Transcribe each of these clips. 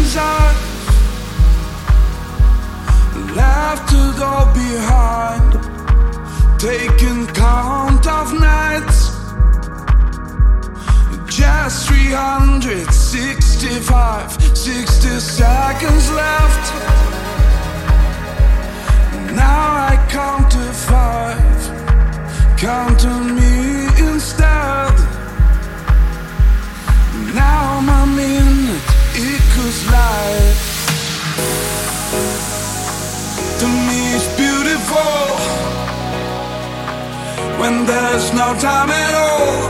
I've left to go behind, taking count of nights. Just 365, 60 seconds left. Now I count to 5. Count on me instead. Now my minute equals life. To me it's beautiful when there's no time at all.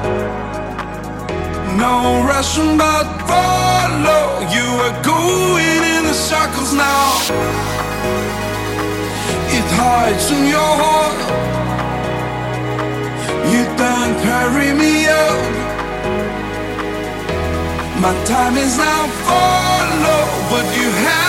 No rushing but follow. You are going in the circles now. It hides in your heart. You don't carry me out. My time is now follow what you have.